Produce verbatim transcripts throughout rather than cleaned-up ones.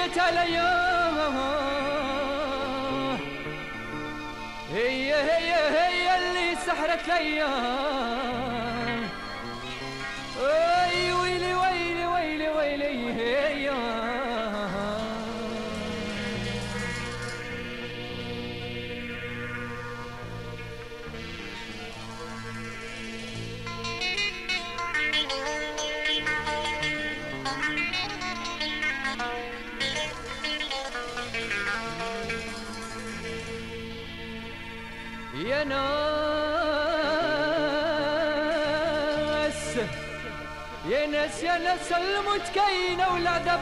جيت عليا هي هي هي اللي سحرت ليا. اي ويلي ويلي ويلي ويلي هي يا ناس يا ناس يا ناس المتكينة والعذاب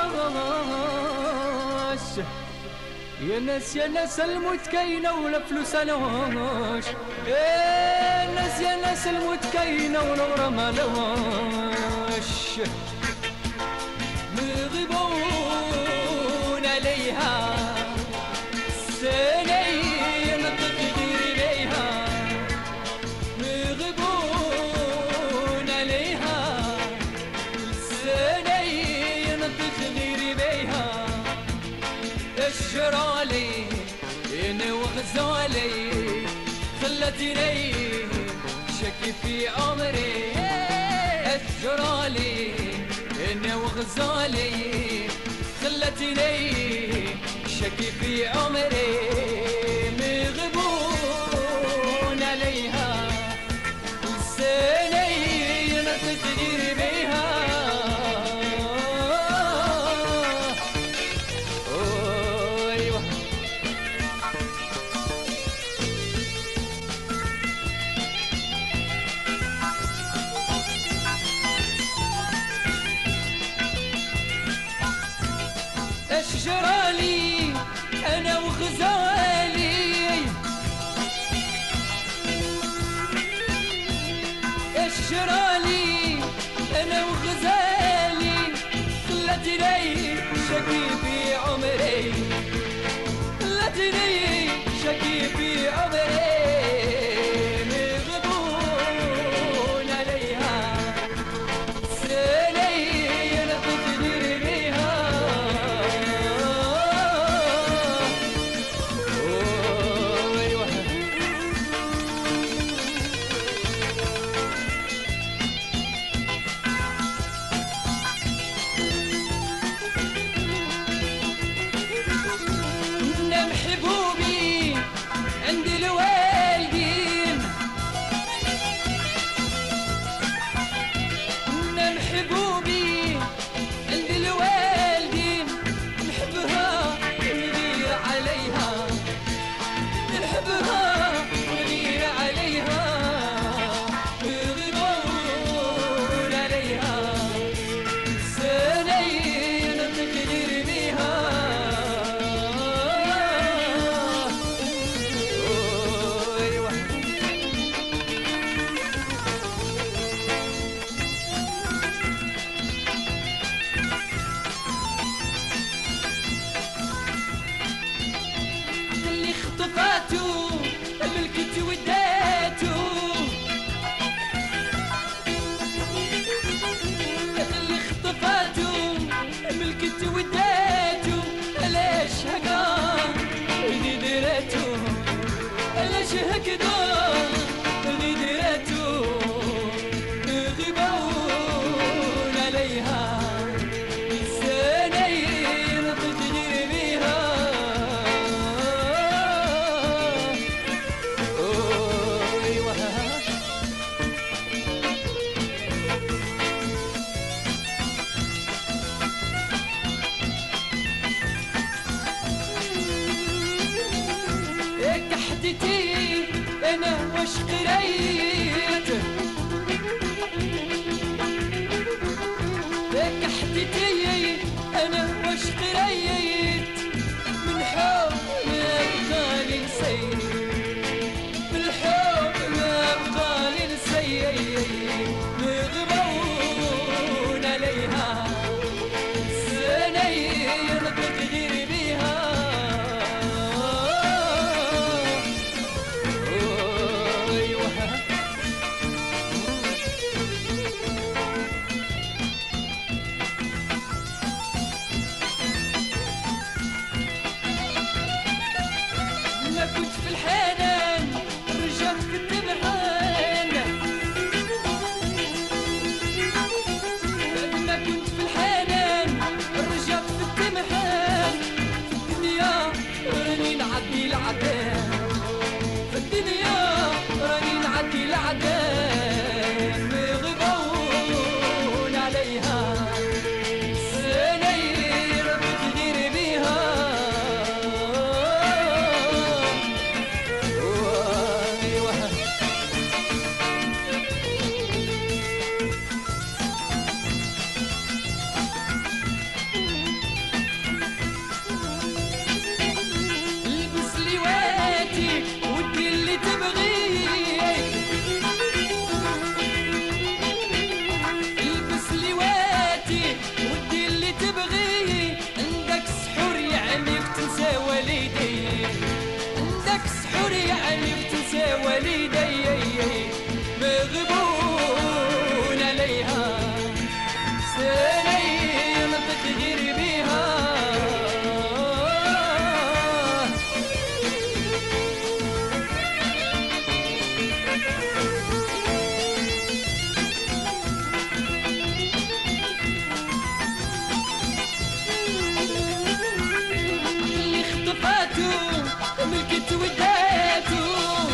علاش. يا ناس يا ناس المتكينة ولا فلوس علاش. يا ناس يا ناس المتكينة والغرام علاش. مغبون عليها سنين تقدير بيها. مغبون عليها سنين تقدير بيها. الشرالي انا وغزالي خلتني شكي في عمري. الشرالي انا وغزالي خلتني شكي في عمري. مغبون عليها سنين تدير بيها. ايوه اشجرالي انا وغزالي اشجرالي انا وغزالي خلتني شقي في عمري. خلتني شقي في عمري. مغبون عليها سنين تدير بيها. محبوبي عند الوالدين. محبوبي عند الوالدين. نحبها نغير عليها. نحبها نغير عليها. مغبون عليها سنين تقدر بيها. خطفاتو ملكت وداتو. اللي خطفاتو ملكت وداتو. علاش هكا اللي دراتو. علاش هكذا اللي دراتو. غيبون عليها سنين تدير بيها. كحدتي انا واش قريت. كحدتي انا واش قريت. من حب ما بقالي نسيت. من حب ما بقالي نسيت. مغبون عليها سنين تدير بيها. ايوه نعدي العدم يغبون عليها سنير بتدير بيها البس لواتي ودي اللي تبغيه البس لواتي ودي اللي تبغيه عندك سحور يعنيك تنسى والدي عندك سحور يعنيك تنسى والدي مغبون عليها سنين تغير بيها اللي خطفاتو ملكت وداتو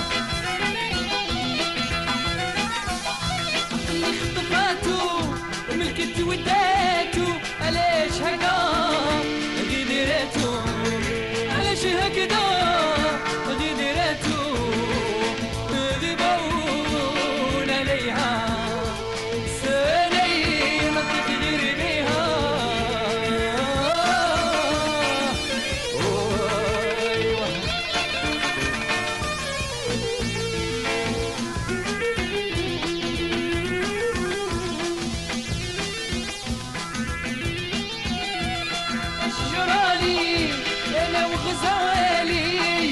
اللي خطفاتو ملكت وداتو علاش هكذا غدراتو علاش هكذا غدراتو غبون عليها سنين تغير بيها شجرالي انا وغزالي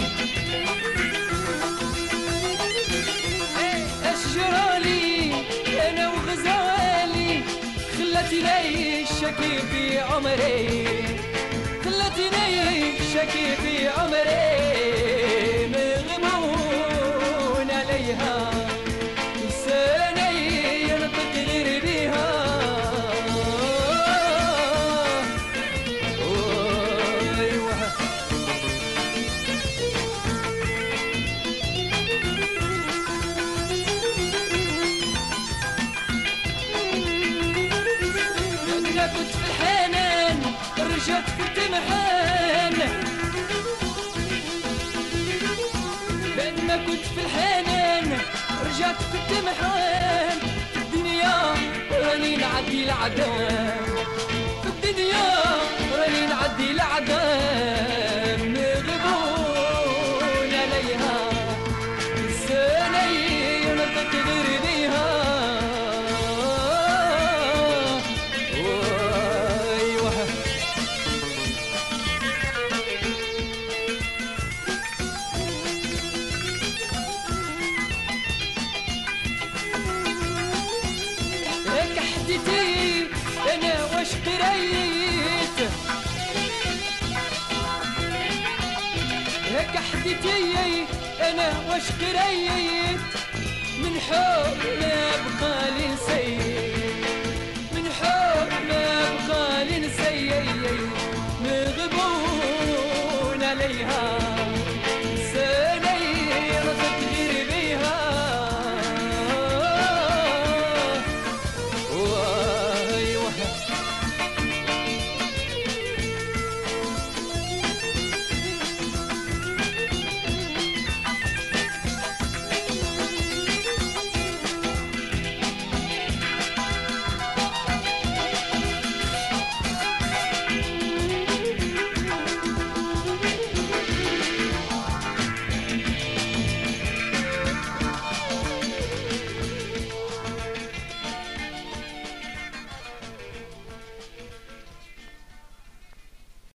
اشجرالي انا وغزالي خلتني شكي في عمري خلتني شكي في عمري مغمون عليها سنين تغير بيها أنا كنت في الحنان رجعت في التمحان بعد ما كنت في الحنان رجعت في التمحان في الدنيا راني نعدي العدم في الدنيا راني نعدي العدم مغبون عليها سنين تغير بيها هيك حديتي انا واش قريت هيك حديتي انا واش قريت